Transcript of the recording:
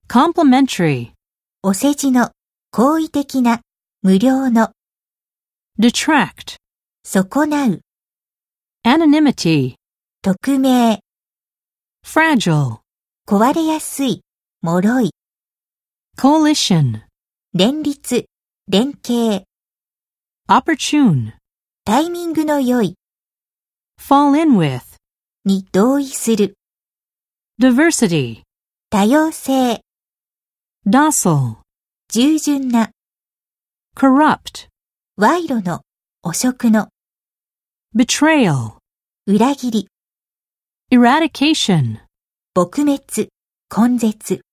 complimentary, お世辞の、好意的な、無料の、 detract, 損なう、 anonymity, 匿名、 fragile, 壊れやすい、脆い、 coalition, 連立、連携、 opportune, タイミングの良い、 fall in with, に同意する、 diversity, 多様性、 docile, 従順な、 corrupt, 賄賂の、汚職の、 betrayal, 裏切り、 eradication, 撲滅、根絶。